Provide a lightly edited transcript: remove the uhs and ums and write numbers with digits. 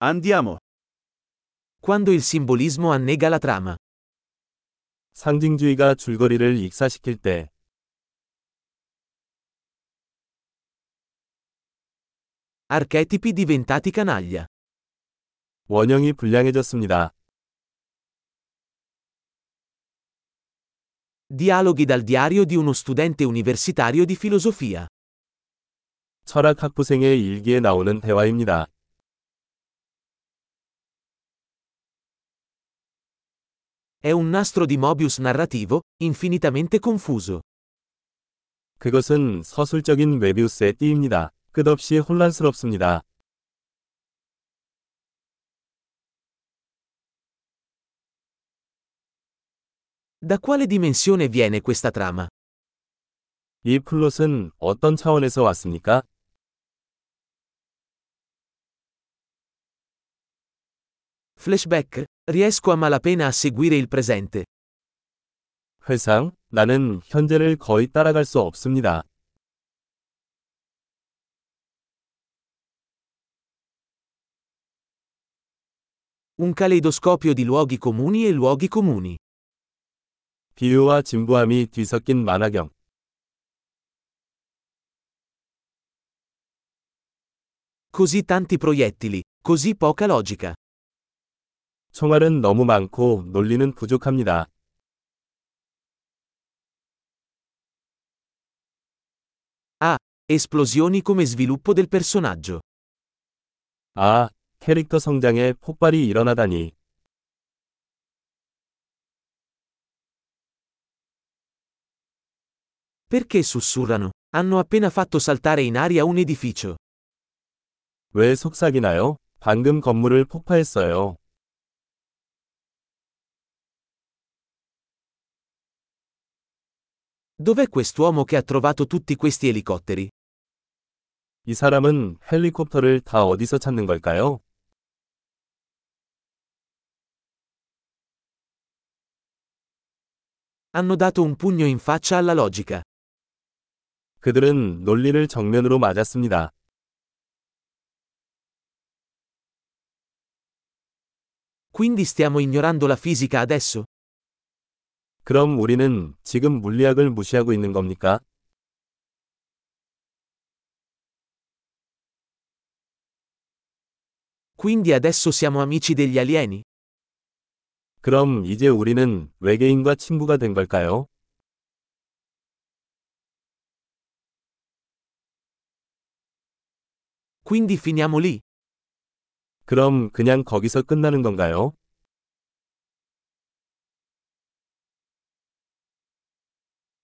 Andiamo. Quando il simbolismo annega la trama. 상징주의가 줄거리를 익사시킬 때, Archetipi diventati canaglia. 원형이 불량해졌습니다. Dialoghi dal diario di uno studente universitario di filosofia. 철학 학부생의 일기에 나오는 대화입니다. È un nastro di Mobius narrativo, infinitamente confuso. 그것은 서술적인 메비우스의 띠입니다. 끝없이 혼란스럽습니다. Da quale dimensione viene questa trama? 이 플롯은 어떤 차원에서 왔습니까? Flashback? Riesco a malapena a seguire il presente. 회상, 나는 현재를 거의 따라갈 수 없습니다. Un caleidoscopio di luoghi comuni e luoghi comuni. 비유와 진부함이 뒤섞인 만화경. Così tanti proiettili, così poca logica. 총알은 너무 많고 논리는 부족합니다. Esplosioni come sviluppo del personaggio. 아, 캐릭터 성장에 폭발이 일어나다니. Perché sussurrano? Hanno appena fatto saltare in aria un edificio. 왜 속삭이나요? 방금 건물을 폭파했어요. Dov'è quest'uomo che ha trovato tutti questi elicotteri? 이 사람은 헬리콥터를 다 어디서 찾는 걸까요? Hanno dato un pugno in faccia alla logica. 그들은 논리를 정면으로 맞았습니다. Quindi stiamo ignorando la fisica adesso? 그럼 우리는 지금 물리학을 무시하고 있는 겁니까? Quindi adesso siamo amici degli alieni? 그럼 이제 우리는 외계인과 친구가 된 걸까요? Quindi finiamo lì? 그럼 그냥 거기서 끝나는 건가요?